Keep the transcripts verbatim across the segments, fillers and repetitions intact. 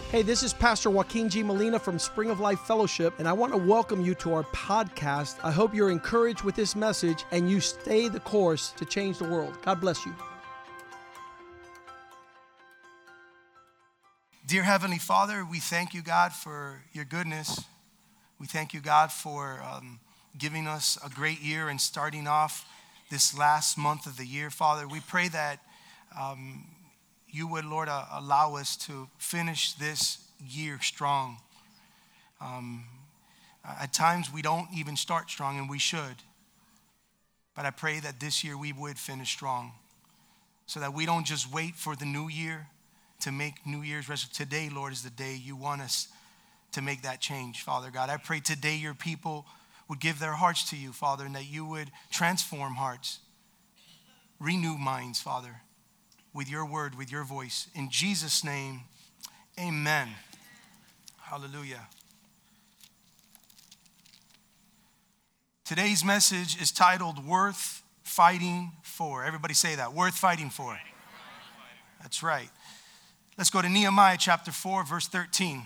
Hey, this is Pastor Joaquin G. Molina from Spring of Life Fellowship, and I want to welcome you to our podcast. I hope you're encouraged with this message and you stay the course to change the world. God bless you. Dear Heavenly Father, we thank you, God, for your goodness. We thank you, God, for um, giving us a great year and starting off this last month of the year. Father, we pray that um, you would, Lord, uh, allow us to finish this year strong. Um, at times we don't even start strong, and we should. But I pray that this year we would finish strong so that we don't just wait for the new year to make New Year's resolution. Today, Lord, is the day you want us to make that change, Father God. I pray today your people would give their hearts to you, Father, and that you would transform hearts, renew minds, Father, with your word, with your voice. In Jesus' name, amen. Hallelujah. Today's message is titled Worth Fighting For. Everybody say that. Worth fighting for. That's right. Let's go to Nehemiah chapter four, verse thirteen.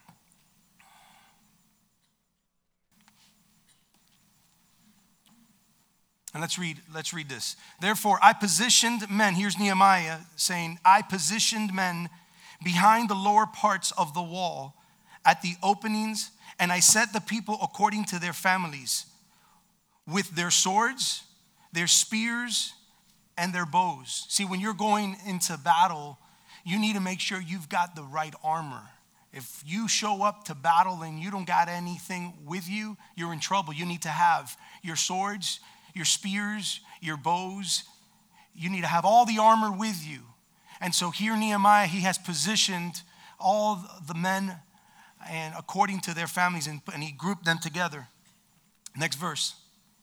And let's read, let's read this. Therefore, I positioned men, here's Nehemiah saying, I positioned men behind the lower parts of the wall at the openings, and I set the people according to their families, with their swords, their spears, and their bows. See, when you're going into battle, you need to make sure you've got the right armor. If you show up to battle and you don't got anything with you, you're in trouble. You need to have your swords, your spears, your bows. You need to have all the armor with you. And so here Nehemiah, he has positioned all the men and according to their families, and, and he grouped them together. Next verse.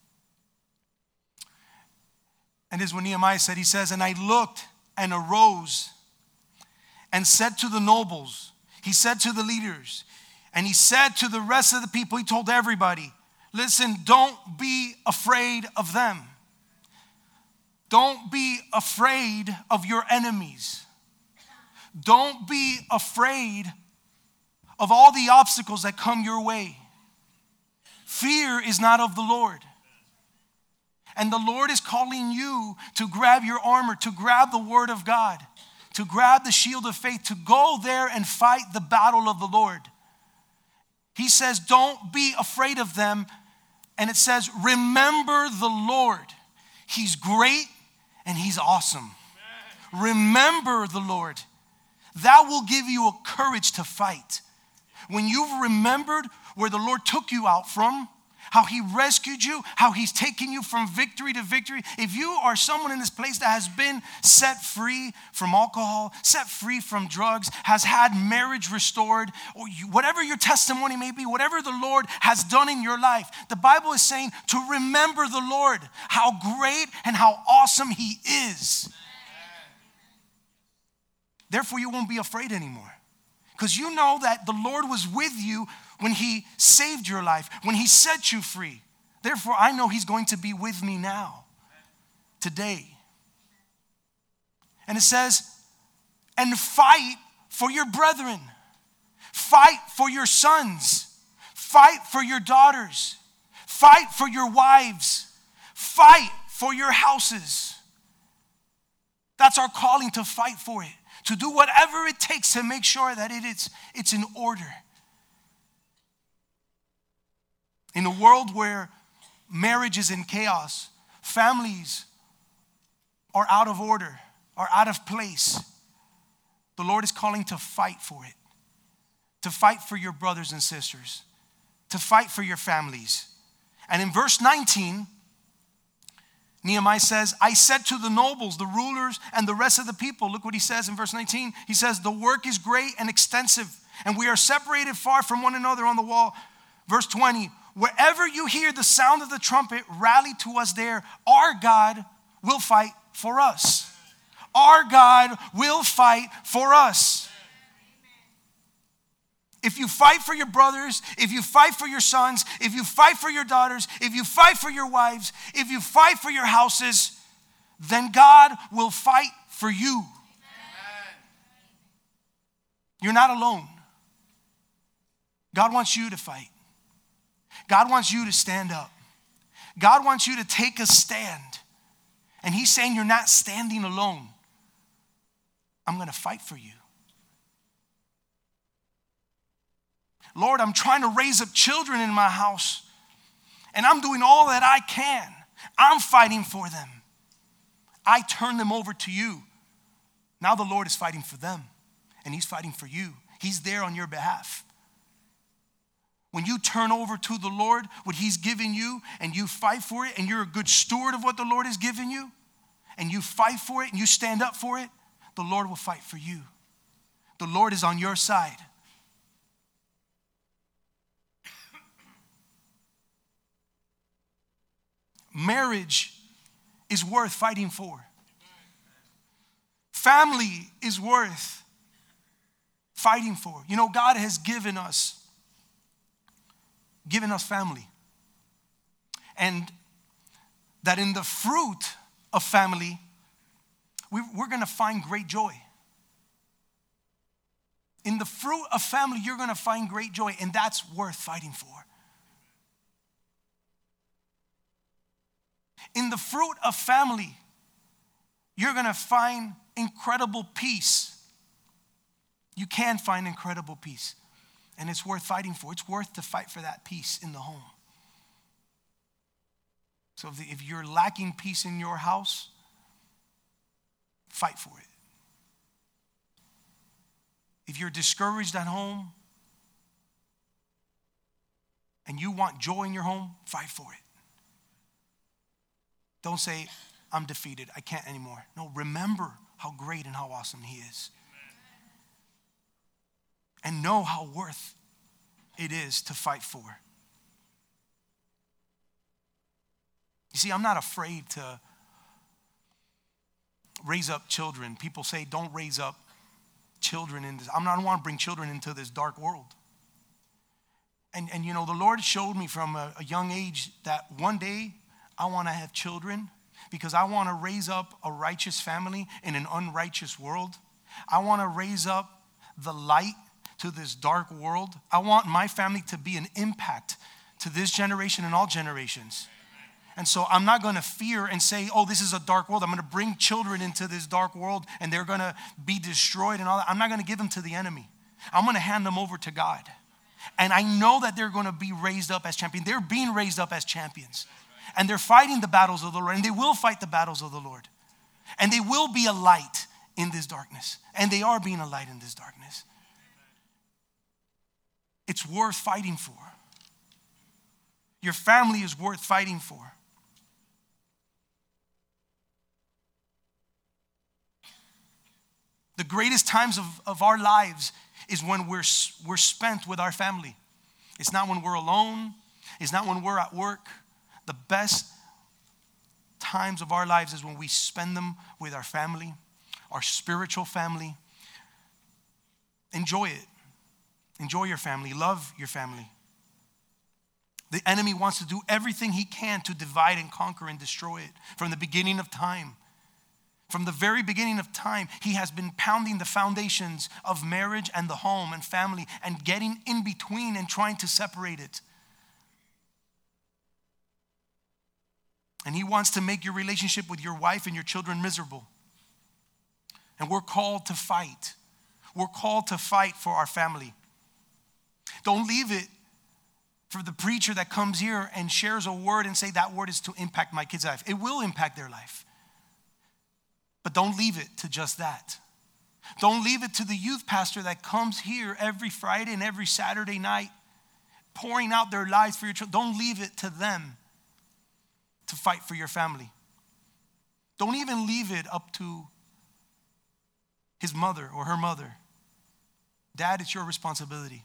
And this is what Nehemiah said. He says, and I looked and arose and said to the nobles, he said to the leaders, and he said to the rest of the people, he told everybody, listen, don't be afraid of them. Don't be afraid of your enemies. Don't be afraid of all the obstacles that come your way. Fear is not of the Lord. And the Lord is calling you to grab your armor, to grab the word of God, to grab the shield of faith, to go there and fight the battle of the Lord. He says, don't be afraid of them. And it says, remember the Lord. He's great and he's awesome. Amen. Remember the Lord. That will give you a courage to fight. When you've remembered where the Lord took you out from, how he rescued you, how he's taken you from victory to victory. If you are someone in this place that has been set free from alcohol, set free from drugs, has had marriage restored, or you, whatever your testimony may be, whatever the Lord has done in your life, the Bible is saying to remember the Lord, how great and how awesome he is. Therefore, you won't be afraid anymore. Because you know that the Lord was with you when he saved your life, when he set you free. Therefore, I know he's going to be with me now, today. And it says, and fight for your brethren. Fight for your sons. Fight for your daughters. Fight for your wives. Fight for your houses. That's our calling, to fight for it. To do whatever it takes to make sure that it is, it's in order. In a world where marriage is in chaos, families are out of order, are out of place, the Lord is calling to fight for it. To fight for your brothers and sisters. To fight for your families. And in verse nineteen, Nehemiah says, I said to the nobles, the rulers, and the rest of the people, look what he says in verse nineteen. He says, the work is great and extensive, and we are separated far from one another on the wall. Verse twenty, wherever you hear the sound of the trumpet, rally to us there. Our God will fight for us. Our God will fight for us. If you fight for your brothers, if you fight for your sons, if you fight for your daughters, if you fight for your wives, if you fight for your houses, then God will fight for you. Amen. You're not alone. God wants you to fight. God wants you to stand up. God wants you to take a stand. And he's saying you're not standing alone. I'm going to fight for you. Lord, I'm trying to raise up children in my house, and I'm doing all that I can. I'm fighting for them. I turn them over to you. Now the Lord is fighting for them, and he's fighting for you. He's there on your behalf. When you turn over to the Lord what he's given you, and you fight for it, and you're a good steward of what the Lord has given you, and you fight for it, and you stand up for it, the Lord will fight for you. The Lord is on your side. Marriage is worth fighting for. Family is worth fighting for. You know, God has given us given us family. And that in the fruit of family, we, we're going to find great joy. In the fruit of family, you're going to find great joy, and that's worth fighting for. In the fruit of family, you're going to find incredible peace. You can find incredible peace. And it's worth fighting for. It's worth to fight for that peace in the home. So if, the, if you're lacking peace in your house, fight for it. If you're discouraged at home and you want joy in your home, fight for it. Don't say, I'm defeated, I can't anymore. No, remember how great and how awesome he is. And know how worth it is to fight for. You see, I'm not afraid to raise up children. People say, don't raise up children in this. I'm not, I don't want to bring children into this dark world. And, and you know, the Lord showed me from a, a young age that one day I want to have children because I want to raise up a righteous family in an unrighteous world. I want to raise up the light to this dark world. I want my family to be an impact to this generation and all generations. And so I'm not going to fear and say, oh, this is a dark world. I'm going to bring children into this dark world and they're going to be destroyed and all that. I'm not going to give them to the enemy. I'm going to hand them over to God. And I know that they're going to be raised up as champions. They're being raised up as champions. And they're fighting the battles of the Lord. And they will fight the battles of the Lord. And they will be a light in this darkness. And they are being a light in this darkness. It's worth fighting for. Your family is worth fighting for. The greatest times of, of our lives is when we're, we're spent with our family. It's not when we're alone. It's not when we're at work. The best times of our lives is when we spend them with our family, our spiritual family. Enjoy it. Enjoy your family. Love your family. The enemy wants to do everything he can to divide and conquer and destroy it from the beginning of time. From the very beginning of time, he has been pounding the foundations of marriage and the home and family and getting in between and trying to separate it. And he wants to make your relationship with your wife and your children miserable. And we're called to fight. We're called to fight for our family. Don't leave it for the preacher that comes here and shares a word and say that word is to impact my kid's life. It will impact their life. But don't leave it to just that. Don't leave it to the youth pastor that comes here every Friday and every Saturday night pouring out their lives for your children. Don't leave it to them to fight for your family. Don't even leave it up to his mother or her mother. Dad, it's your responsibility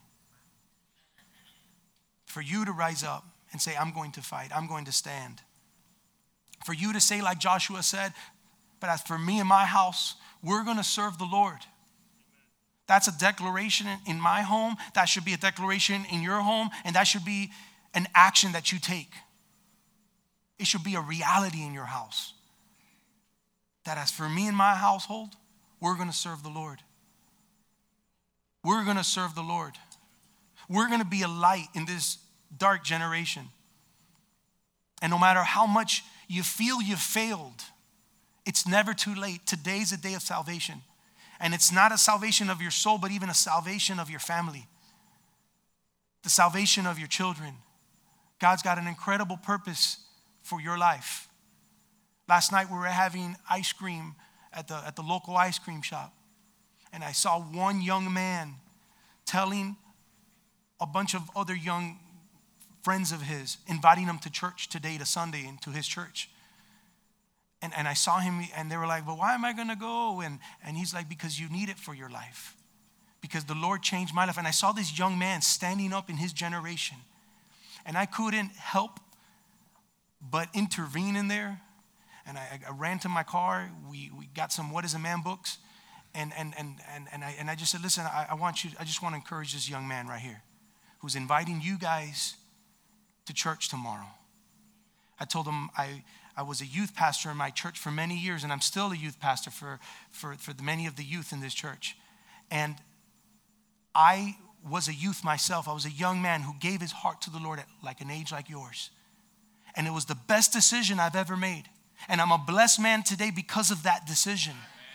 for you to rise up and say, I'm going to fight. I'm going to stand. For you to say like Joshua said, but as for me and my house, we're going to serve the Lord. That's a declaration in my home. That should be a declaration in your home. And that should be an action that you take. It should be a reality in your house. That as for me and my household, we're going to serve the Lord. We're going to serve the Lord. We're going to be a light in this dark generation. And no matter how much you feel you've failed, it's never too late. Today's a day of salvation. And it's not a salvation of your soul, but even a salvation of your family. The salvation of your children. God's got an incredible purpose for your life. Last night we were having ice cream at the, at the local ice cream shop. And I saw one young man telling a bunch of other young friends of his, inviting them to church today, to Sunday, and to his church. And, and I saw him, and they were like, well, why am I going to go? And, and he's like, because you need it for your life. Because the Lord changed my life. And I saw this young man standing up in his generation. And I couldn't help but intervene in there. And I, I ran to my car. We, we got some What is a Man books. And, and, and, and, and, I, and I just said, listen, I, I want you, I just want to encourage this young man right here who's inviting you guys to church tomorrow. I told him I, I was a youth pastor in my church for many years, and I'm still a youth pastor for, for, for the many of the youth in this church. And I was a youth myself. I was a young man who gave his heart to the Lord at like an age like yours. And it was the best decision I've ever made. And I'm a blessed man today because of that decision.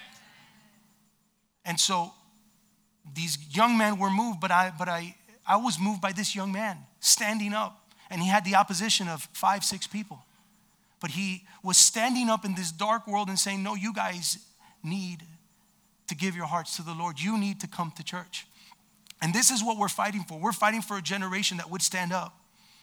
And so these young men were moved, but I but I, I was moved by this young man standing up. And he had the opposition of five, six people. But he was standing up in this dark world and saying, no, you guys need to give your hearts to the Lord. You need to come to church. And this is what we're fighting for. We're fighting for a generation that would stand up.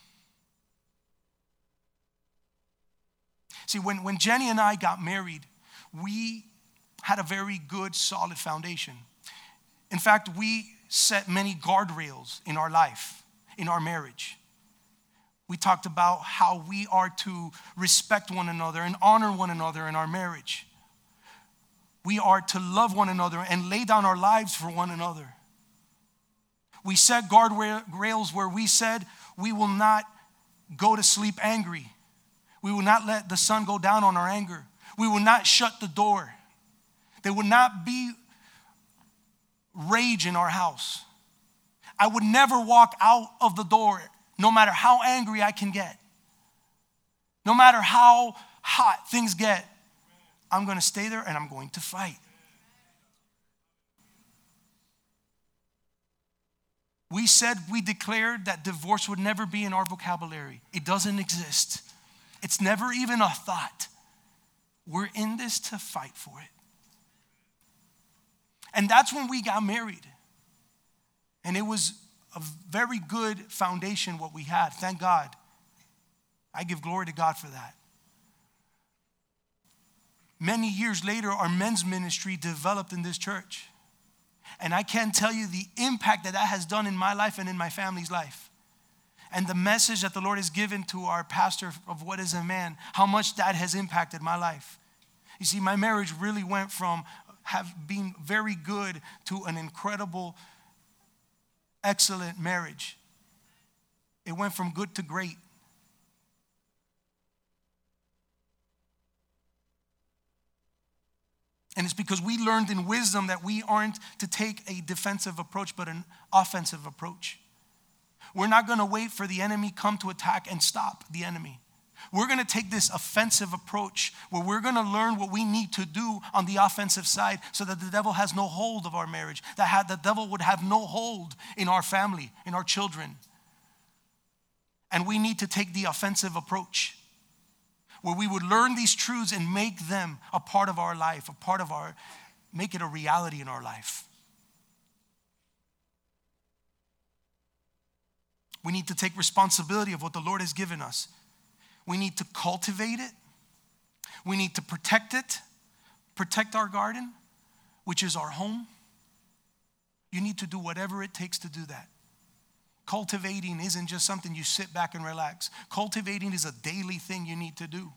See, when, when Jenny and I got married, we had a very good, solid foundation. In fact, we set many guardrails in our life, in our marriage. We talked about how we are to respect one another and honor one another in our marriage. We are to love one another and lay down our lives for one another. We set guardrails where we said we will not go to sleep angry. We will not let the sun go down on our anger. We will not shut the door. There will not be rage in our house. I would never walk out of the door no matter how angry I can get. No matter how hot things get, I'm going to stay there and I'm going to fight. We said, we declared that divorce would never be in our vocabulary. It doesn't exist. It's never even a thought. We're in this to fight for it. And that's when we got married. And it was a very good foundation what we had. Thank God. I give glory to God for that. Many years later, our men's ministry developed in this church. And I can't tell you the impact that that has done in my life and in my family's life. And the message that the Lord has given to our pastor of What is a Man, how much that has impacted my life. You see, my marriage really went from have been very good to an incredible, excellent marriage. It went from good to great. And it's because we learned in wisdom that we aren't to take a defensive approach, but an offensive approach. We're not going to wait for the enemy come to attack and stop the enemy. We're going to take this offensive approach where we're going to learn what we need to do on the offensive side so that the devil has no hold of our marriage, that had, the devil would have no hold in our family, in our children. And we need to take the offensive approach where we would learn these truths and make them a part of our life, a part of our, make it a reality in our life. We need to take responsibility of what the Lord has given us. We need to cultivate it. We need to protect it, protect our garden, which is our home. You need to do whatever it takes to do that. Cultivating isn't just something you sit back and relax. Cultivating is a daily thing you need to do.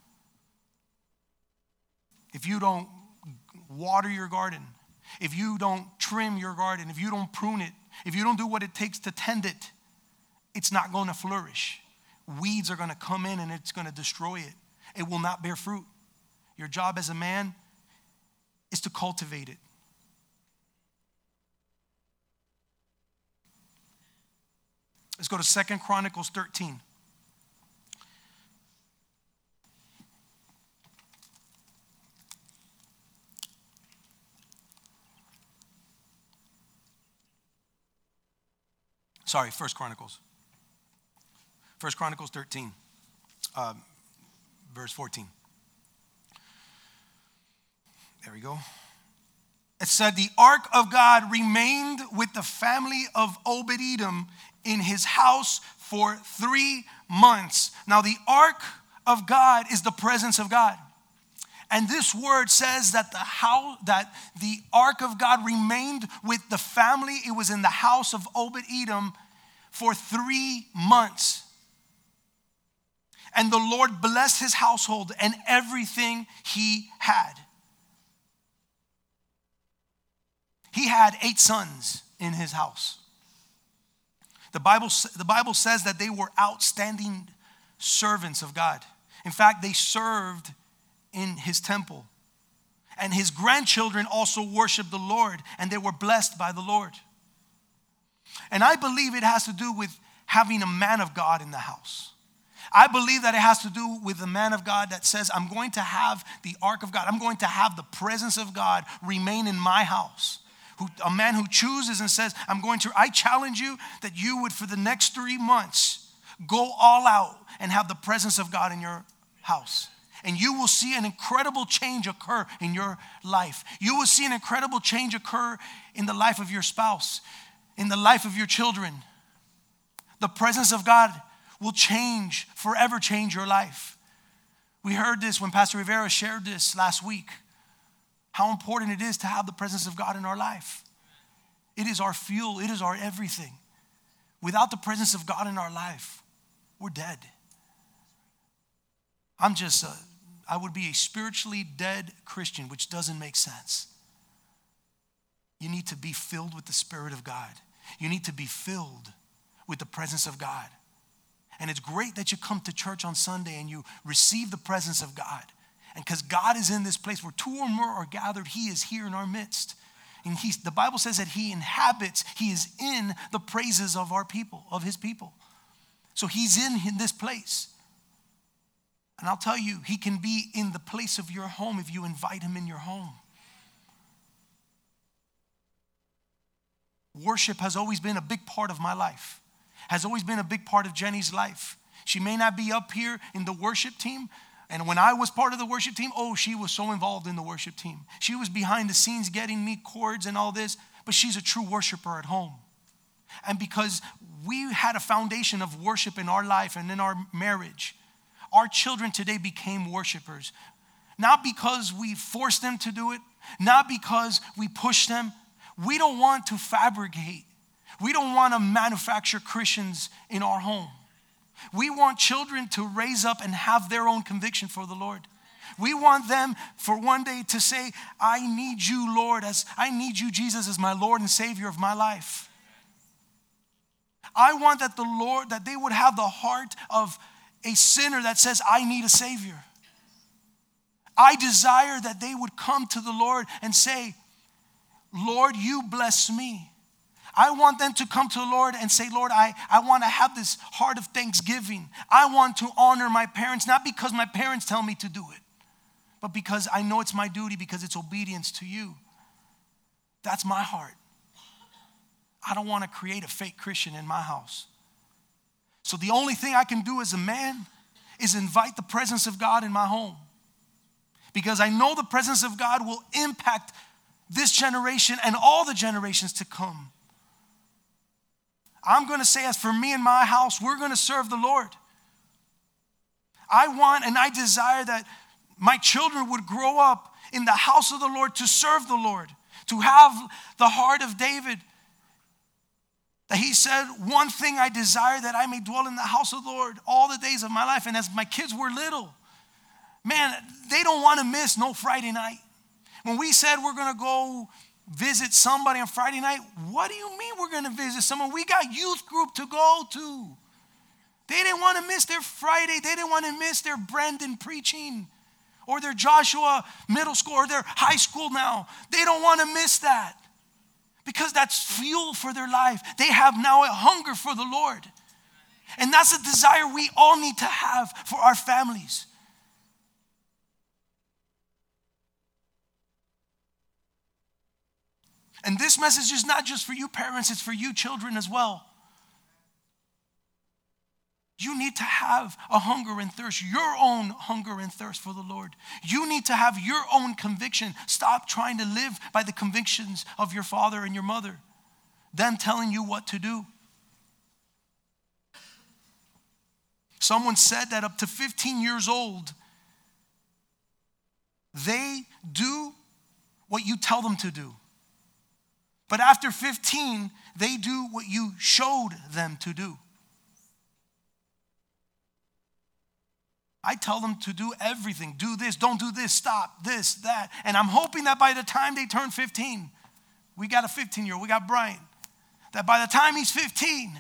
If you don't water your garden, if you don't trim your garden, if you don't prune it, if you don't do what it takes to tend it, it's not going to flourish. Weeds are going to come in and it's going to destroy it. It will not bear fruit. Your job as a man is to cultivate it. Let's go to Second Chronicles thirteen. Sorry, First Chronicles. First Chronicles thirteen, um, verse fourteen. There we go. It said, the ark of God remained with the family of Obed-Edom in his house for three months. Now, the ark of God is the presence of God. And this word says that the house, that the ark of God remained with the family. It was in the house of Obed-Edom for three months. And the Lord blessed his household and everything he had. He had eight sons in his house. The Bible, the Bible says that they were outstanding servants of God. In fact, they served in his temple. And his grandchildren also worshiped the Lord, and they were blessed by the Lord. And I believe it has to do with having a man of God in the house. I believe that it has to do with the man of God that says, I'm going to have the ark of God. I'm going to have the presence of God remain in my house. Who, a man who chooses and says, I'm going to, I challenge you that you would, for the next three months, go all out and have the presence of God in your house. And you will see an incredible change occur in your life. You will see an incredible change occur in the life of your spouse, in the life of your children. The presence of God will change, forever change your life. We heard this when Pastor Rivera shared this last week. How important it is to have the presence of God in our life. It is our fuel. It is our everything. Without the presence of God in our life, we're dead. I'm just, a, I would be a spiritually dead Christian, which doesn't make sense. You need to be filled with the Spirit of God. You need to be filled with the presence of God. And it's great that you come to church on Sunday and you receive the presence of God. And because God is in this place where two or more are gathered, he is here in our midst. And he's, the Bible says that he inhabits, he is in the praises of our people, of his people. So he's in, in this place. And I'll tell you, he can be in the place of your home if you invite him in your home. Worship has always been a big part of my life, has always been a big part of Jenny's life. She may not be up here in the worship team. And when I was part of the worship team, oh, she was so involved in the worship team. She was behind the scenes getting me chords and all this, but she's a true worshiper at home. And because we had a foundation of worship in our life and in our marriage, our children today became worshipers. Not because we forced them to do it, not because we pushed them. We don't want to fabricate. We don't want to manufacture Christians in our home. We want children to raise up and have their own conviction for the Lord. We want them for one day to say, I need you, Lord, as I need you, Jesus, as my Lord and Savior of my life. I want that the Lord, that they would have the heart of a sinner that says, I need a Savior. I desire that they would come to the Lord and say, Lord, you bless me. I want them to come to the Lord and say, Lord, I, I want to have this heart of thanksgiving. I want to honor my parents, not because my parents tell me to do it, but because I know it's my duty, because it's obedience to you. That's my heart. I don't want to create a fake Christian in my house. So the only thing I can do as a man is invite the presence of God in my home, because I know the presence of God will impact this generation and all the generations to come. I'm going to say, as for me and my house, we're going to serve the Lord. I want and I desire that my children would grow up in the house of the Lord to serve the Lord, to have the heart of David. That he said, one thing I desire, that I may dwell in the house of the Lord all the days of my life. And as my kids were little, man, they don't want to miss no Friday night. When we said we're going to go visit somebody on Friday night, what do you mean we're going to visit someone? We got youth group to go to. They didn't want to miss their Friday. They didn't want to miss their Brandon preaching or their Joshua middle school or their high school now. They don't want to miss that because that's fuel for their life. They have now a hunger for the Lord. And that's a desire we all need to have for our families. And this message is not just for you parents, it's for you children as well. You need to have a hunger and thirst, your own hunger and thirst for the Lord. You need to have your own conviction. Stop trying to live by the convictions of your father and your mother, them telling you what to do. Someone said that up to fifteen years old, they do what you tell them to do. But after fifteen, they do what you showed them to do. I tell them to do everything. Do this, don't do this, stop, this, that. And I'm hoping that by the time they turn fifteen, we got a fifteen-year-old, we got Brian, that by the time he's fifteen,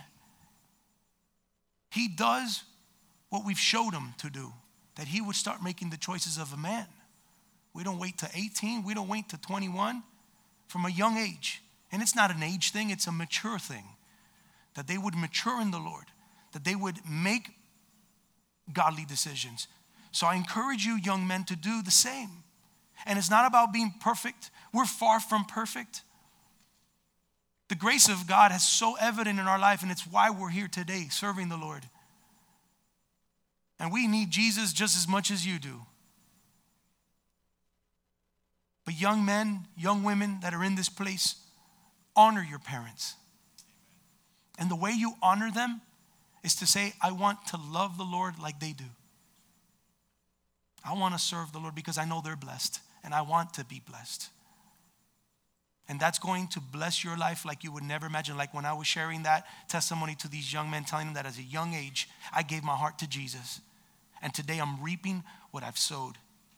he does what we've showed him to do, that he would start making the choices of a man. We don't wait to eighteen, we don't wait to twenty-one, from a young age. And it's not an age thing, it's a mature thing. That they would mature in the Lord, that they would make godly decisions. So I encourage you, young men, to do the same. And it's not about being perfect. We're far from perfect. The grace of God is so evident in our life, and it's why we're here today, serving the Lord. And we need Jesus just as much as you do. But young men, young women that are in this place, honor your parents. And the way you honor them is to say, I want to love the Lord like they do. I want to serve the Lord because I know they're blessed and I want to be blessed. And that's going to bless your life like you would never imagine. Like when I was sharing that testimony to these young men, telling them that as a young age, I gave my heart to Jesus. And today I'm reaping what I've sowed.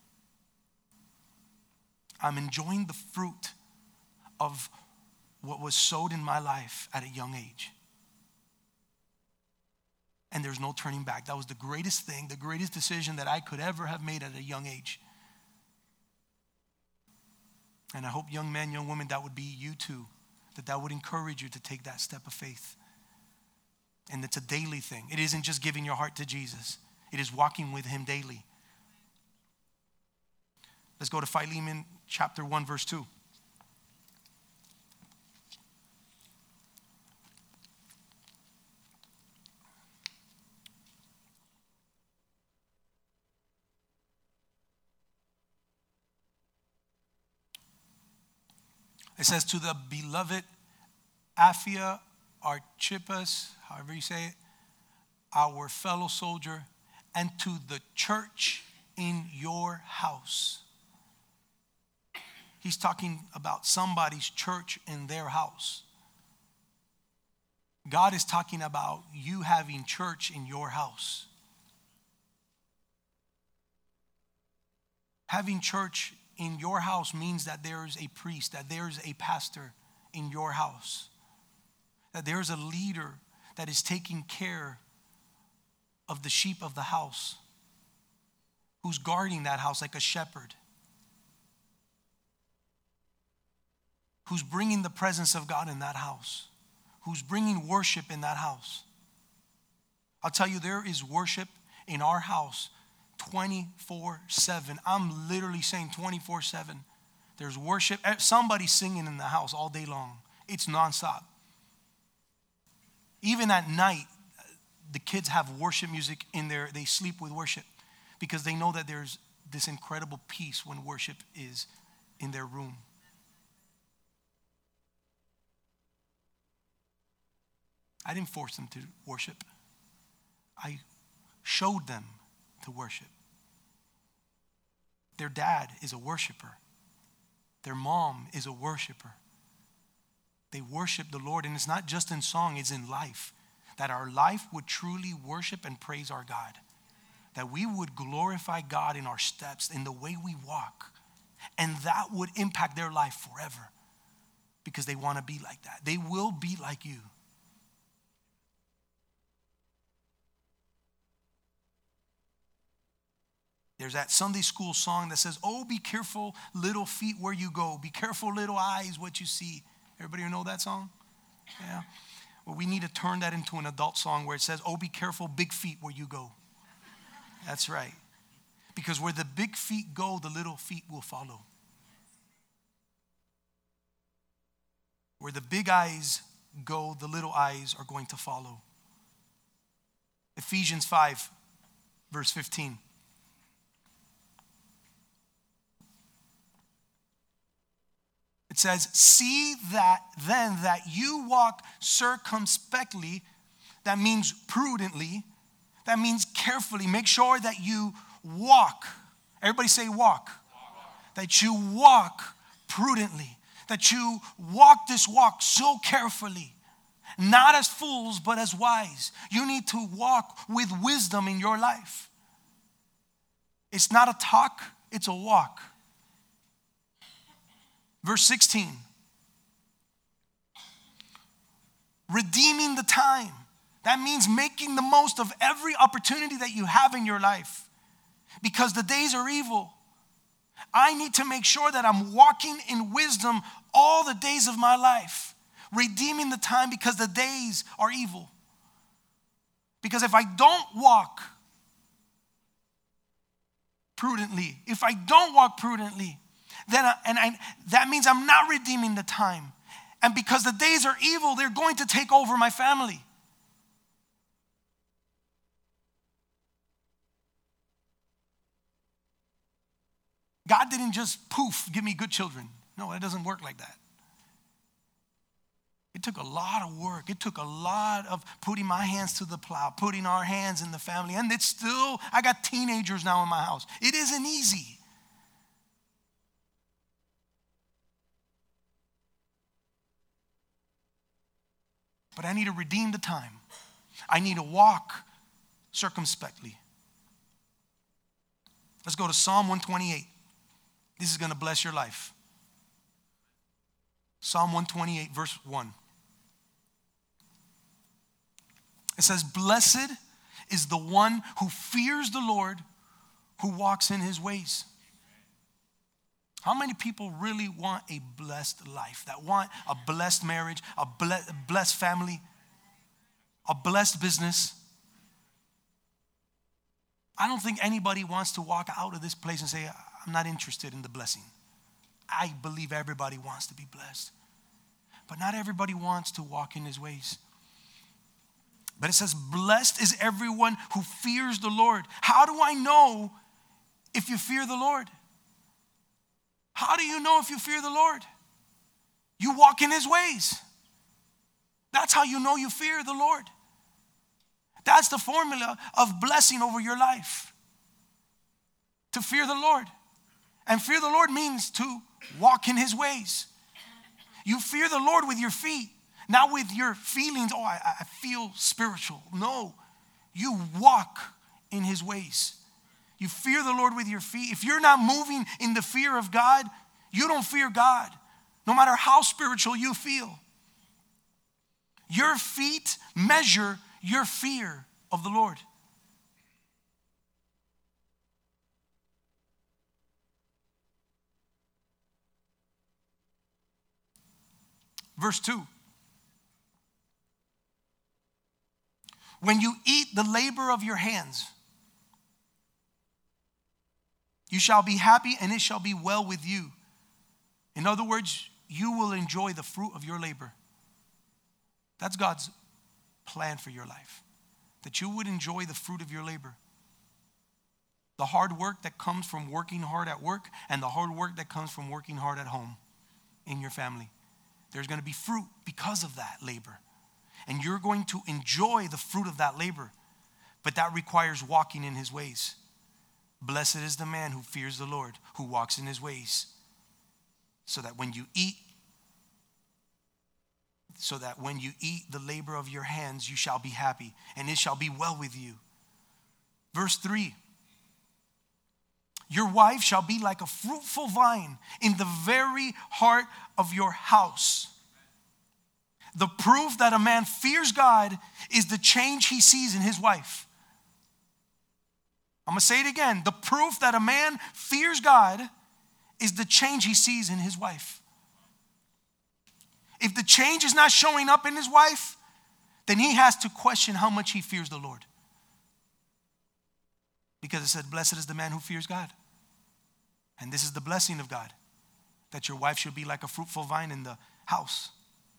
I'm enjoying the fruit of what was sowed in my life at a young age. And there's no turning back. That was the greatest thing, the greatest decision that I could ever have made at a young age. And I hope young men, young women, that would be you too, that that would encourage you to take that step of faith. And it's a daily thing. It isn't just giving your heart to Jesus. It is walking with him daily. Let's go to Philemon chapter one, verse two. It says, to the beloved Apphia Archippus, however you say it, our fellow soldier, and to the church in your house. He's talking about somebody's church in their house. God is talking about you having church in your house. Having church in your house means that there's a priest, that there's a pastor in your house, that there's a leader that is taking care of the sheep of the house, who's guarding that house like a shepherd, who's bringing the presence of God in that house, who's bringing worship in that house. I'll tell you, there is worship in our house twenty-four seven. I'm literally saying twenty-four seven. There's worship. Somebody's singing in the house all day long. It's nonstop. Even at night, the kids have worship music in there. They sleep with worship because they know that there's this incredible peace when worship is in their room. I didn't force them to worship. I showed them to worship. Their dad is a worshiper. Their mom is a worshiper. They worship the Lord, and it's not just in song, it's in life. That our life would truly worship and praise our God. That we would glorify God in our steps, in the way we walk. And that would impact their life forever. Because they want to be like that. They will be like you. There's that Sunday school song that says, oh, be careful, little feet, where you go. Be careful, little eyes, what you see. Everybody know that song? Yeah. Well, we need to turn that into an adult song where it says, oh, be careful, big feet, where you go. That's right. Because where the big feet go, the little feet will follow. Where the big eyes go, the little eyes are going to follow. Ephesians five, verse fifteen. It says, see that then that you walk circumspectly, that means prudently, that means carefully. Make sure that you walk. Everybody say walk. Walk. That you walk prudently. That you walk this walk so carefully. Not as fools, but as wise. You need to walk with wisdom in your life. It's not a talk, it's a walk. Verse sixteen. Redeeming the time. That means making the most of every opportunity that you have in your life. Because the days are evil. I need to make sure that I'm walking in wisdom all the days of my life. Redeeming the time because the days are evil. Because if I don't walk prudently, if I don't walk prudently, then I, and I, that means I'm not redeeming the time. And because the days are evil, they're going to take over my family. God didn't just poof, give me good children. No, it doesn't work like that. It took a lot of work. It took a lot of putting my hands to the plow, putting our hands in the family. And it's still, I got teenagers now in my house. It isn't easy. But I need to redeem the time. I need to walk circumspectly. Let's go to Psalm one twenty-eight. This is going to bless your life. Psalm one twenty-eight, verse one. It says, blessed is the one who fears the Lord, who walks in his ways. How many people really want a blessed life? That want a blessed marriage, a blessed family, a blessed business? I don't think anybody wants to walk out of this place and say, I'm not interested in the blessing. I believe everybody wants to be blessed. But not everybody wants to walk in his ways. But it says, blessed is everyone who fears the Lord. How do I know if you fear the Lord? How do you know if you fear the Lord? You walk in his ways. That's how you know you fear the Lord. That's the formula of blessing over your life. To fear the Lord. And fear the Lord means to walk in his ways. You fear the Lord with your feet, not with your feelings. Oh, I, I feel spiritual. No, you walk in his ways. You fear the Lord with your feet. If you're not moving in the fear of God, you don't fear God, no matter how spiritual you feel. Your feet measure your fear of the Lord. Verse two. When you eat the labor of your hands, you shall be happy and it shall be well with you. In other words, you will enjoy the fruit of your labor. That's God's plan for your life. That you would enjoy the fruit of your labor. The hard work that comes from working hard at work and the hard work that comes from working hard at home in your family. There's going to be fruit because of that labor. And you're going to enjoy the fruit of that labor. But that requires walking in his ways. Blessed is the man who fears the Lord, who walks in his ways. So that when you eat, so that when you eat the labor of your hands, you shall be happy, and it shall be well with you. Verse three. Your wife shall be like a fruitful vine in the very heart of your house. The proof that a man fears God is the change he sees in his wife. I'm going to say it again. The proof that a man fears God is the change he sees in his wife. If the change is not showing up in his wife, then he has to question how much he fears the Lord. Because it said, blessed is the man who fears God. And this is the blessing of God, that your wife should be like a fruitful vine in the house.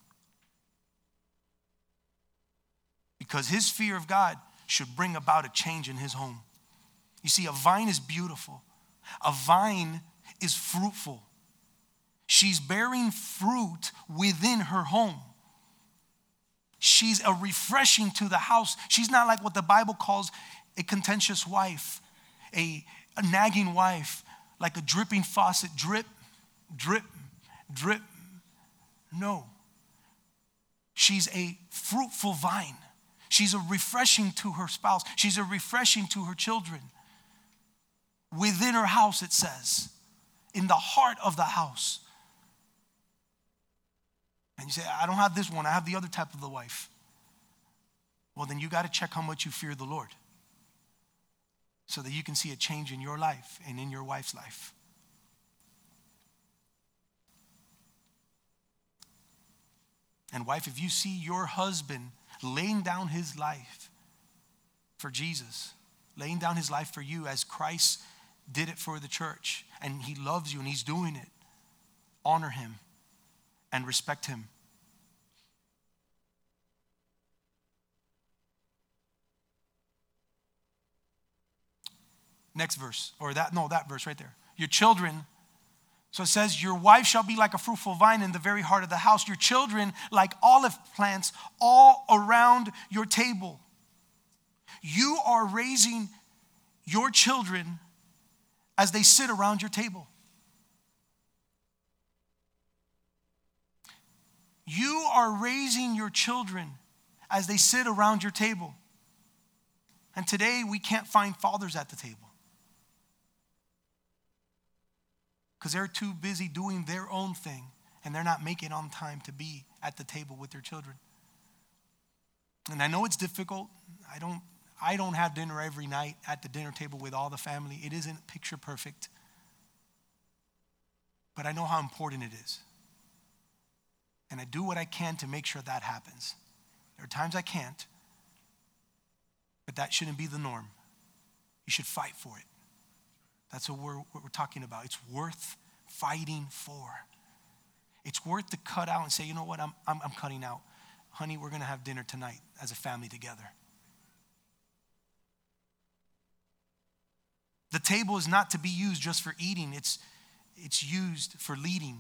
Because his fear of God should bring about a change in his home. You see, a vine is beautiful. A vine is fruitful. She's bearing fruit within her home. She's a refreshing to the house. She's not like what the Bible calls a contentious wife, a, a nagging wife, like a dripping faucet, drip, drip, drip. No. She's a fruitful vine. She's a refreshing to her spouse. She's a refreshing to her children. Within her house, it says, in the heart of the house. And you say, I don't have this one. I have the other type of the wife. Well, then you got to check how much you fear the Lord, so that you can see a change in your life and in your wife's life. And wife, if you see your husband laying down his life for Jesus, laying down his life for you as Christ did it for the church, and he loves you and he's doing it, honor him and respect him. Next verse, or that, no, that verse right there. Your children, so it says, your wife shall be like a fruitful vine in the very heart of the house. Your children like olive plants all around your table. You are raising your children as they sit around your table. You are raising your children as they sit around your table. And today we can't find fathers at the table, because they're too busy doing their own thing and they're not making on time to be at the table with their children. And I know it's difficult. I don't, I don't have dinner every night at the dinner table with all the family. It isn't picture perfect. But I know how important it is. And I do what I can to make sure that happens. There are times I can't, but that shouldn't be the norm. You should fight for it. That's what we're, what we're talking about. It's worth fighting for. It's worth to cut out and say, you know what, I'm, I'm, I'm cutting out. Honey, we're going to have dinner tonight as a family together. The table is not to be used just for eating. It's, it's used for leading.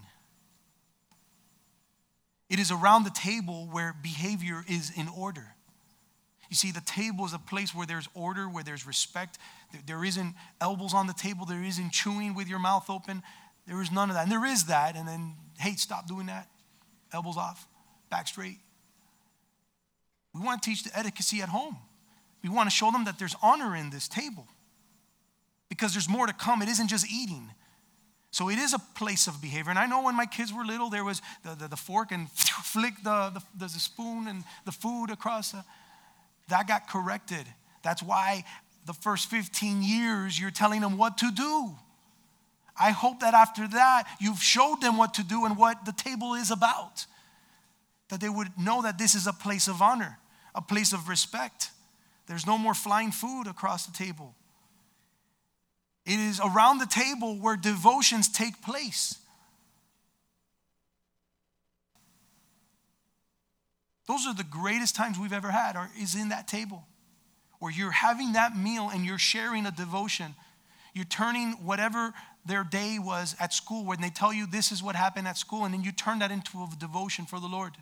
It is around the table where behavior is in order. You see, the table is a place where there's order, where there's respect. There isn't elbows on the table. There isn't chewing with your mouth open. There is none of that. And there is that. And then, hey, stop doing that. Elbows off, back straight. We want to teach the etiquette at home. We want to show them that there's honor in this table, because there's more to come. It isn't just eating. So it is a place of behavior. And I know when my kids were little, there was the, the, the fork and flick the, the, the spoon and the food across the... That got corrected. That's why the first fifteen years you're telling them what to do. I hope that after that you've showed them what to do and what the table is about. That they would know that this is a place of honor, a place of respect. There's no more flying food across the table. It is around the table where devotions take place. Those are the greatest times we've ever had, or is in that table, where you're having that meal and you're sharing a devotion. You're turning whatever their day was at school, when they tell you this is what happened at school, and then you turn that into a devotion for the Lord.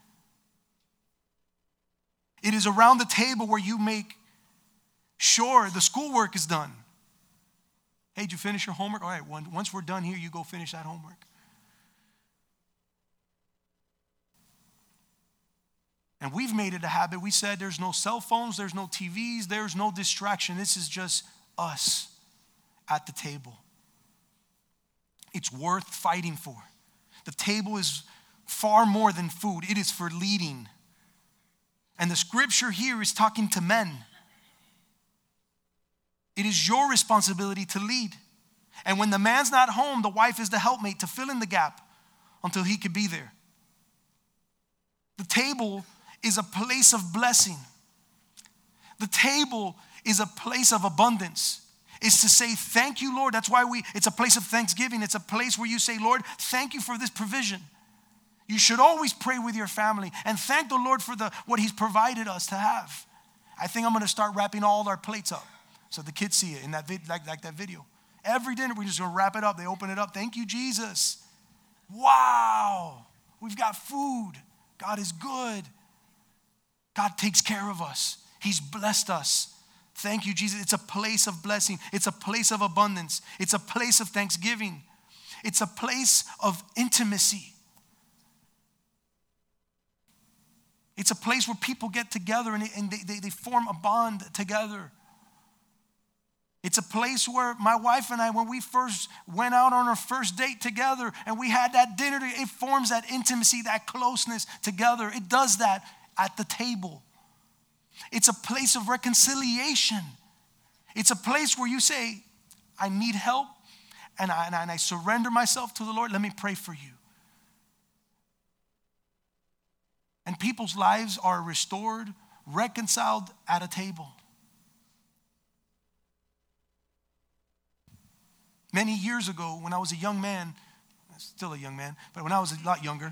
It is around the table where you make sure the schoolwork is done. Hey, did you finish your homework? All right, once we're done here, you go finish that homework. And we've made it a habit. We said there's no cell phones, there's no T Vs, there's no distraction. This is just us at the table. It's worth fighting for. The table is far more than food. It is for leading. And the scripture here is talking to men. It is your responsibility to lead. And when the man's not home, the wife is the helpmate to fill in the gap until he could be there. The table is a place of blessing. The table is a place of abundance. It's to say, thank you, Lord. That's why we, it's a place of thanksgiving. It's a place where you say, Lord, thank you for this provision. You should always pray with your family and thank the Lord for the what he's provided us to have. I think I'm going to start wrapping all our plates up so the kids see it in that vid, like, like that video. Every dinner, we're just going to wrap it up. They open it up. Thank you, Jesus. Wow. We've got food. God is good. God takes care of us. He's blessed us. Thank you, Jesus. It's a place of blessing. It's a place of abundance. It's a place of thanksgiving. It's a place of intimacy. It's a place where people get together and, and they, they, they form a bond together. It's a place where my wife and I, when we first went out on our first date together and we had that dinner, it forms that intimacy, that closeness together. It does that at the table. It's a place of reconciliation. It's a place where you say, I need help, and I, and I, and I surrender myself to the Lord. Let me pray for you. And people's lives are restored, reconciled at a table. Many years ago, when I was a young man, still a young man, but when I was a lot younger,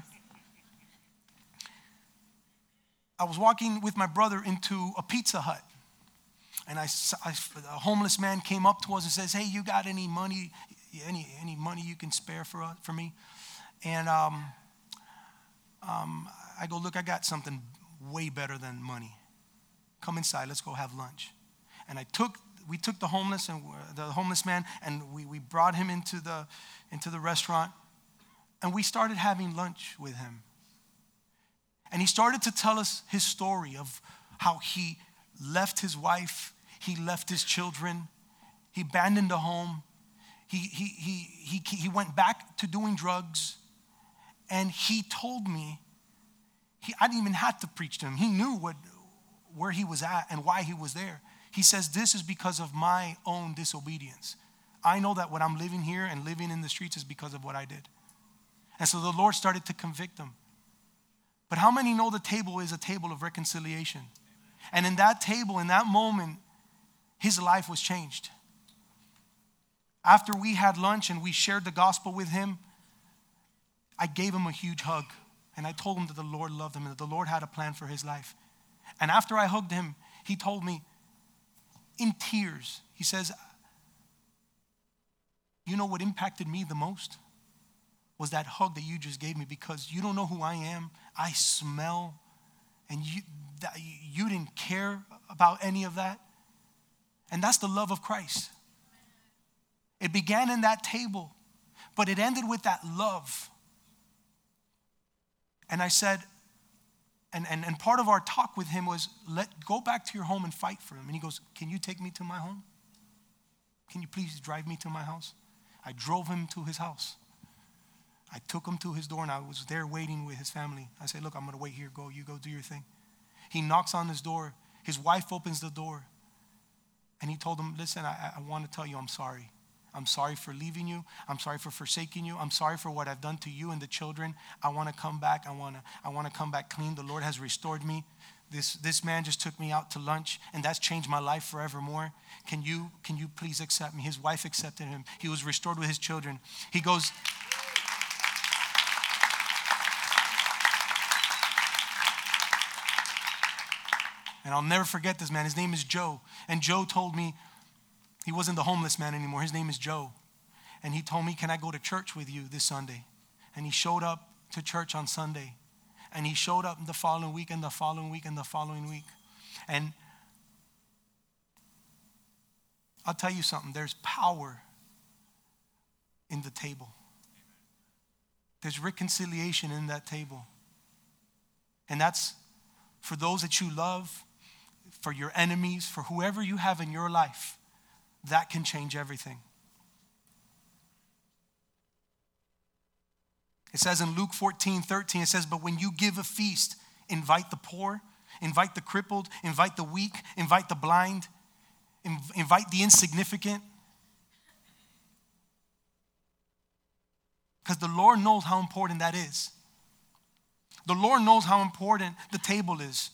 I was walking with my brother into a Pizza Hut. And I, I, a homeless man came up to us and says, hey, you got any money, any any money you can spare for uh, for me? And um, um, I go, look, I got something way better than money. Come inside, let's go have lunch. And I took, we took the homeless and the homeless man, and we, we brought him into the into the restaurant, and we started having lunch with him. And he started to tell us his story of how he left his wife, he left his children, he abandoned the home, he he he he he went back to doing drugs, and he told me, he, I didn't even have to preach to him. He knew what where he was at and why he was there. He says, this is because of my own disobedience. I know that what I'm living here and living in the streets is because of what I did. And so the Lord started to convict him. But how many know the table is a table of reconciliation? And in that table, in that moment, his life was changed. After we had lunch and we shared the gospel with him, I gave him a huge hug. And I told him that the Lord loved him and that the Lord had a plan for his life. And after I hugged him, he told me in tears, he says, you know what impacted me the most? Was that hug that you just gave me, because you don't know who I am. I smell, and you that, you didn't care about any of that. And that's the love of Christ. It began in that table, but it ended with that love. And I said, and, and, and part of our talk with him was, let go back to your home and fight for him. And he goes, can you take me to my home? Can you please drive me to my house? I drove him to his house. I took him to his door, and I was there waiting with his family. I said, look, I'm going to wait here. Go, you go do your thing. He knocks on his door. His wife opens the door. And he told him, listen, I, I want to tell you I'm sorry. I'm sorry for leaving you. I'm sorry for forsaking you. I'm sorry for what I've done to you and the children. I want to come back. I want to I want to come back clean. The Lord has restored me. This, this man just took me out to lunch, and that's changed my life forevermore. Can you, can you please accept me? His wife accepted him. He was restored with his children. He goes, and I'll never forget this man. His name is Joe. And Joe told me, he wasn't the homeless man anymore. His name is Joe. And he told me, can I go to church with you this Sunday? And he showed up to church on Sunday. And he showed up the following week and the following week and the following week. And I'll tell you something. There's power in the table. There's reconciliation in that table. And that's for those that you love, for your enemies, for whoever you have in your life. That can change everything. It says in Luke fourteen thirteen, it says, but when you give a feast, invite the poor, invite the crippled, invite the weak, invite the blind, inv- invite the insignificant. Because the Lord knows how important that is. The Lord knows how important the table is.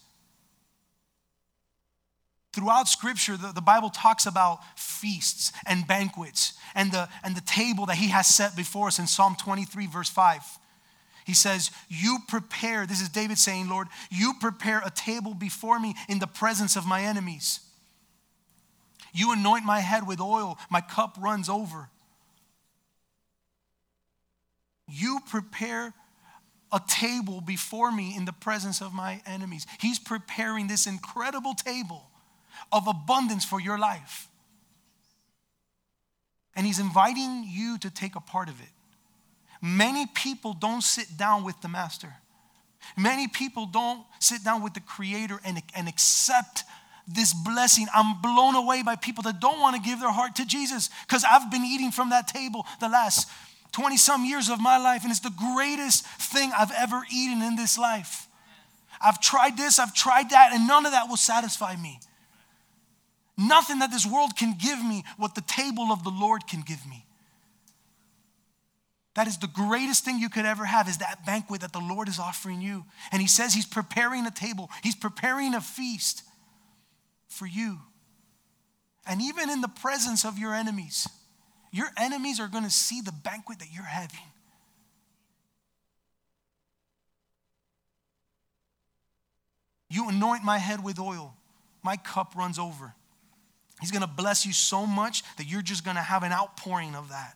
Throughout Scripture, the, the Bible talks about feasts and banquets and the, and the table that he has set before us in Psalm twenty-three, verse five. He says, you prepare, this is David saying, Lord, you prepare a table before me in the presence of my enemies. You anoint my head with oil, my cup runs over. You prepare a table before me in the presence of my enemies. He's preparing this incredible table of abundance for your life. And he's inviting you to take a part of it. Many people don't sit down with the master. Many people don't sit down with the Creator and, and accept this blessing. I'm blown away by people that don't want to give their heart to Jesus, because I've been eating from that table the last twenty some years of my life, and it's the greatest thing I've ever eaten in this life. I've tried this, I've tried that, and none of that will satisfy me. Nothing that this world can give me what the table of the Lord can give me. That is the greatest thing you could ever have, is that banquet that the Lord is offering you. And he says he's preparing a table. He's preparing a feast for you. And even in the presence of your enemies, your enemies are going to see the banquet that you're having. You anoint my head with oil. My cup runs over. He's going to bless you so much that you're just going to have an outpouring of that.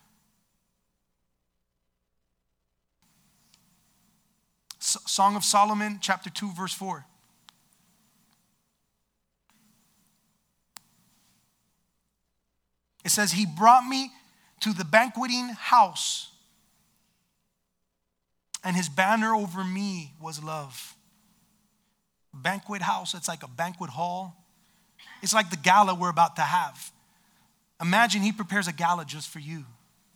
Song of Solomon, chapter two, verse four. It says, he brought me to the banqueting house, and his banner over me was love. Banquet house, it's like a banquet hall. It's like the gala we're about to have. Imagine he prepares a gala just for you.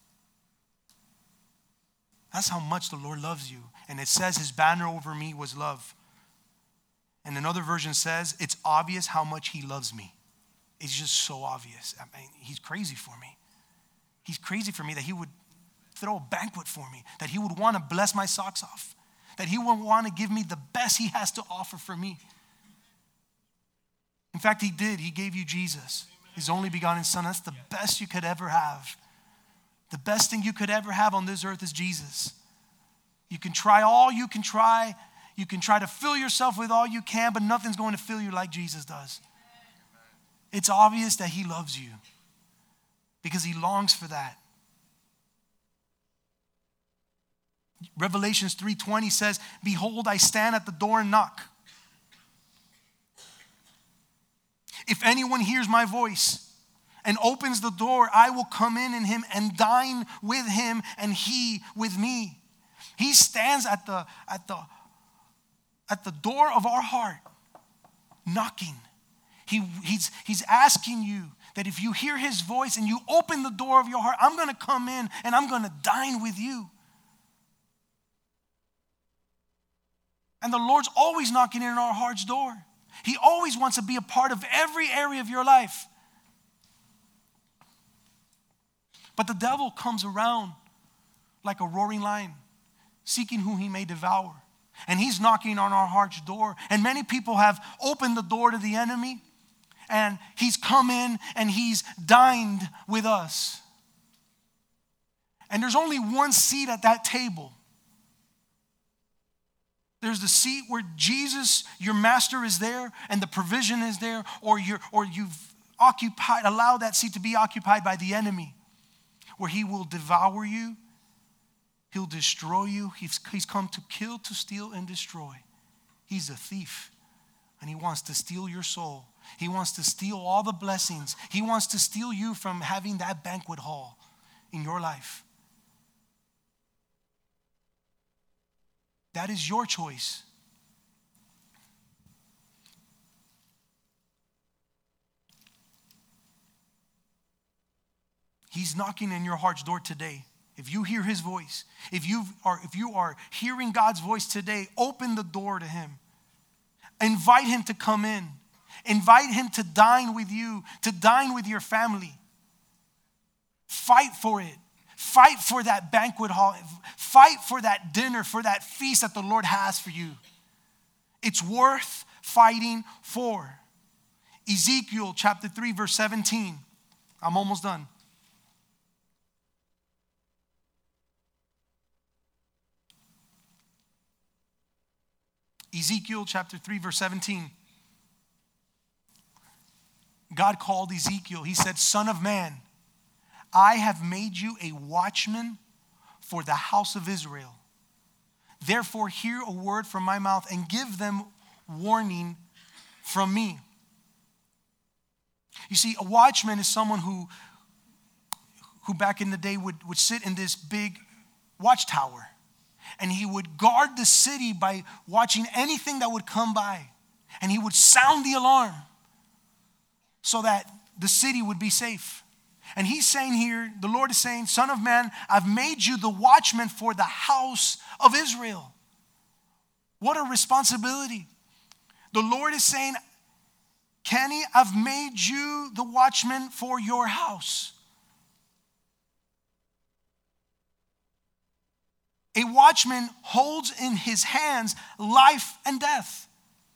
That's how much the Lord loves you. And it says his banner over me was love. And another version says, it's obvious how much he loves me. It's just so obvious. I mean, he's crazy for me. He's crazy for me that he would throw a banquet for me, that he would want to bless my socks off, that he would want to give me the best he has to offer for me. In fact, he did. He gave you Jesus, his only begotten son. That's the best you could ever have. The best thing you could ever have on this earth is Jesus. You can try all you can try. You can try to fill yourself with all you can, but nothing's going to fill you like Jesus does. It's obvious that he loves you because he longs for that. Revelations three twenty says, behold, I stand at the door and knock. If anyone hears my voice and opens the door, I will come in in him and dine with him and he with me. He stands at the, at the, at the door of our heart, knocking. He, he's, he's asking you that if you hear his voice and you open the door of your heart, I'm going to come in and I'm going to dine with you. And the Lord's always knocking in our heart's door. He always wants to be a part of every area of your life. But the devil comes around like a roaring lion, seeking whom he may devour. And he's knocking on our heart's door. And many people have opened the door to the enemy, and he's come in and he's dined with us. And there's only one seat at that table. There's the seat where Jesus, your master, is there and the provision is there, or you're or you've occupied, allowed that seat to be occupied by the enemy, where he will devour you, he'll destroy you. He's, he's come to kill, to steal, and destroy. He's a thief, and he wants to steal your soul. He wants to steal all the blessings. He wants to steal you from having that banquet hall in your life. That is your choice. He's knocking in your heart's door today. If you hear his voice, if you are if you are hearing God's voice today, open the door to him. Invite him to come in. Invite him to dine with you, to dine with your family. Fight for it. Fight for that banquet hall. Fight for that dinner, for that feast that the Lord has for you. It's worth fighting for. Ezekiel chapter three, verse seventeen. I'm almost done. Ezekiel chapter three, verse seventeen. God called Ezekiel. He said, Son of man, I have made you a watchman for the house of Israel. Therefore, hear a word from my mouth and give them warning from me. You see, a watchman is someone who, who back in the day would, would sit in this big watchtower. And he would guard the city by watching anything that would come by. And he would sound the alarm so that the city would be safe. And he's saying here, the Lord is saying, Son of man, I've made you the watchman for the house of Israel. What a responsibility. The Lord is saying, Kenny, I've made you the watchman for your house. A watchman holds in his hands life and death.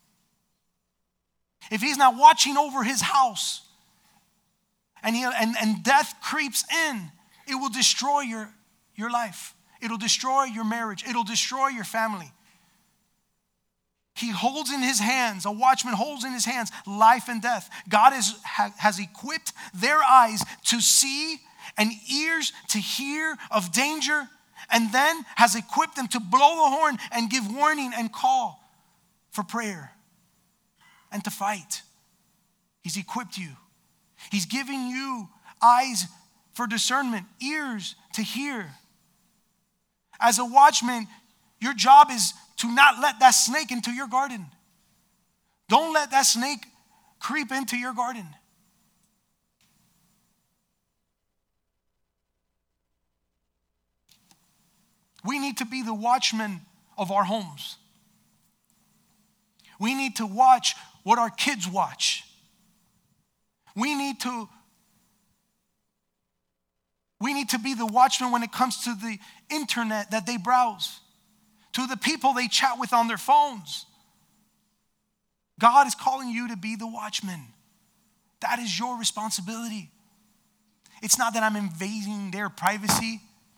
If he's not watching over his house and, he, and, and death creeps in, it will destroy your, your life. It'll destroy your marriage. It'll destroy your family. He holds in his hands, a watchman holds in his hands life and death. God is, ha, has equipped their eyes to see and ears to hear of danger, and then has equipped them to blow the horn and give warning and call for prayer and to fight. He's equipped you. He's giving you eyes for discernment, ears to hear. As a watchman, your job is to not let that snake into your garden. Don't let that snake creep into your garden. We need to be the watchmen of our homes. We need to watch what our kids watch. We need to We need to be the watchmen when it comes to the internet that they browse, to the people they chat with on their phones. God is calling you to be the watchman. That is your responsibility. It's not that I'm invading their privacy.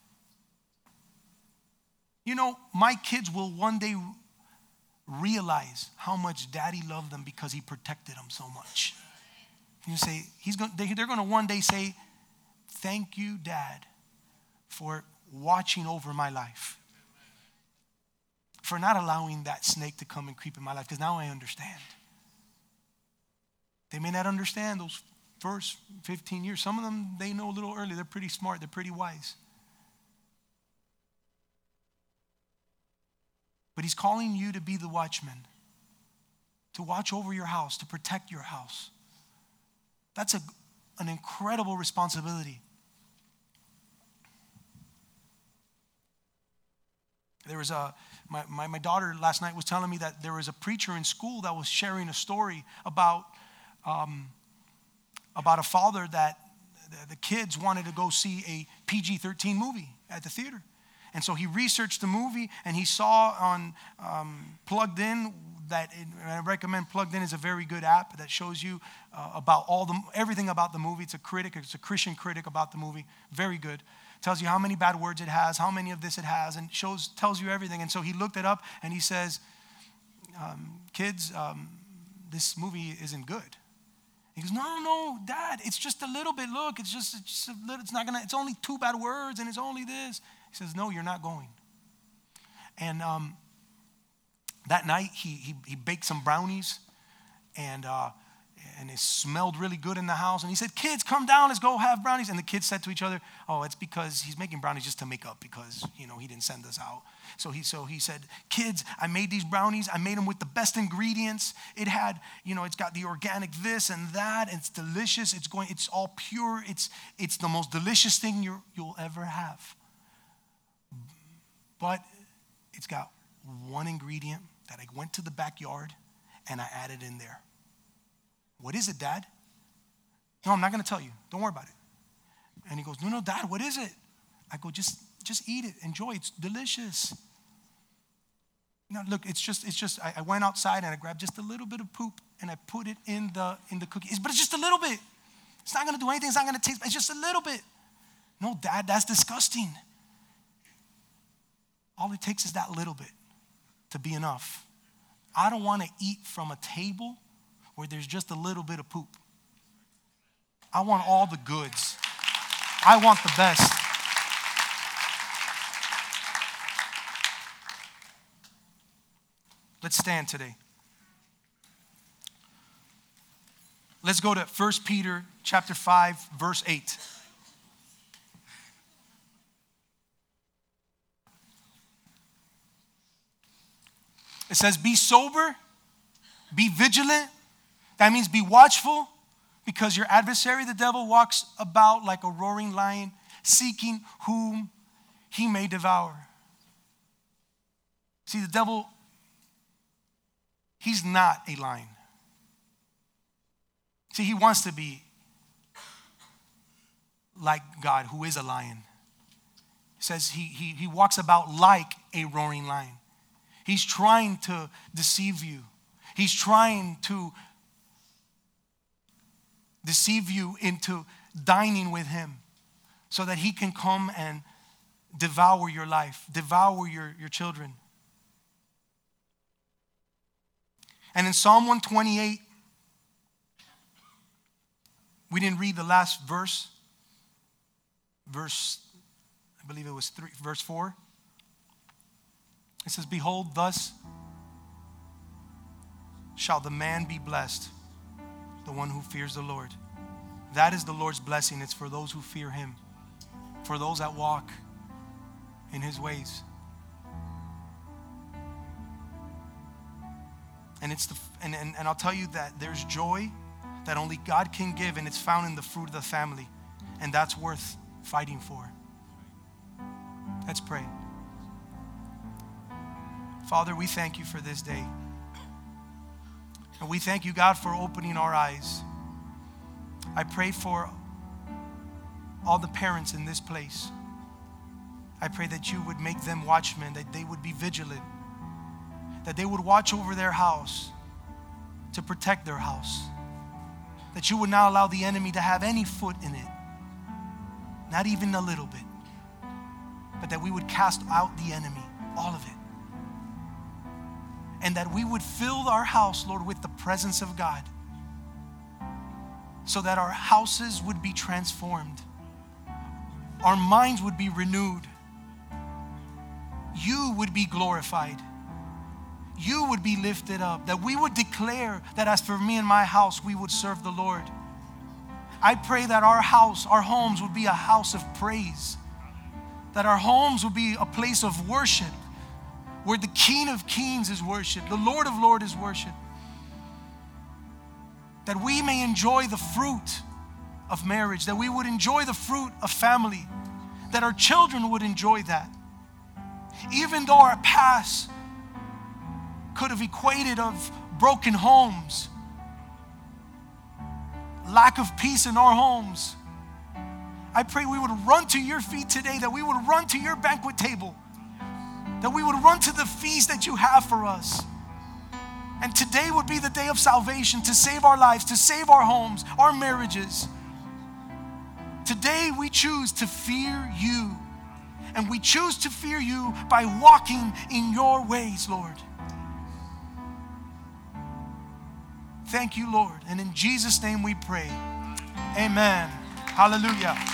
You know, my kids will one day realize how much daddy loved them because he protected them so much. You say, he's going, they, they're going to one day say, thank you, Dad, for watching over my life. For not allowing that snake to come and creep in my life, because now I understand. They may not understand those first fifteen years. Some of them, they know a little early. They're pretty smart. They're pretty wise. But he's calling you to be the watchman, to watch over your house, to protect your house. That's a, an incredible responsibility. There was a, my, my, my daughter last night was telling me that there was a preacher in school that was sharing a story about, um, about a father that the, the kids wanted to go see a P G thirteen movie at the theater. And so he researched the movie, and he saw on um, Plugged In that it, I recommend Plugged In is a very good app that shows you uh, about all the everything about the movie. It's a critic, it's a Christian critic about the movie. Very good. Tells you how many bad words it has, how many of this it has, and shows tells you everything. And so he looked it up, and he says, um, "Kids, um, this movie isn't good." He goes, "No, no, Dad, it's just a little bit. Look, it's just, it's just a little. It's not gonna. It's only two bad words, and it's only this." He says, "No, you're not going." And um, that night, he, he he baked some brownies, and uh, and it smelled really good in the house. And he said, "Kids, come down, let's go have brownies." And the kids said to each other, "Oh, it's because he's making brownies just to make up because, you know, he didn't send us out." So he so he said, "Kids, I made these brownies. I made them with the best ingredients. It had, you know, it's got the organic this and that. And it's delicious. It's going. It's all pure. It's it's the most delicious thing you you'll ever have. But it's got one ingredient that I went to the backyard and I added in there." "What is it, Dad?" "No, I'm not going to tell you. Don't worry about it." And he goes, "No, no, Dad, what is it?" I go, just, just eat it. Enjoy it. It's delicious. No, look, it's just, it's just, I, I went outside and I grabbed just a little bit of poop and I put it in the, in the cookie. It's, but it's just a little bit. It's not going to do anything. It's not going to taste, it's just a little bit. No, Dad, that's disgusting. All it takes is that little bit to be enough. I don't want to eat from a table where there's just a little bit of poop. I want all the goods. I want the best. Let's stand today. Let's go to First Peter chapter five, verse eight. It says, be sober, be vigilant. That means be watchful, because your adversary, the devil, walks about like a roaring lion, seeking whom he may devour. See, the devil, he's not a lion. See, he wants to be like God, who is a lion. It says he, he, he walks about like a roaring lion. He's trying to deceive you. He's trying to deceive you into dining with him so that he can come and devour your life, devour your, your children. And in Psalm one twenty-eight, we didn't read the last verse. Verse, I believe it was three, verse four. It says, behold, thus shall the man be blessed, the one who fears the Lord. That is the Lord's blessing. It's for those who fear him, for those that walk in his ways. And it's the and, and, and I'll tell you that there's joy that only God can give, and it's found in the fruit of the family. And that's worth fighting for. Let's pray. Father, we thank you for this day. And we thank you, God, for opening our eyes. I pray for all the parents in this place. I pray that you would make them watchmen, that they would be vigilant, that they would watch over their house to protect their house, that you would not allow the enemy to have any foot in it, not even a little bit, but that we would cast out the enemy, all of it. And that we would fill our house, Lord, with the presence of God, so that our houses would be transformed. Our minds would be renewed. You would be glorified. You would be lifted up. That we would declare that as for me and my house, we would serve the Lord. I pray that our house, our homes would be a house of praise. That our homes would be a place of worship, where the King of Kings is worshiped, the Lord of Lords is worshiped. That we may enjoy the fruit of marriage, that we would enjoy the fruit of family, that our children would enjoy that. Even though our past could have equated of broken homes, lack of peace in our homes, I pray we would run to your feet today, that we would run to your banquet table, that we would run to the feast that you have for us. And today would be the day of salvation, to save our lives, to save our homes, our marriages. Today we choose to fear you. And we choose to fear you by walking in your ways, Lord. Thank you, Lord. And in Jesus' name we pray. Amen. Hallelujah.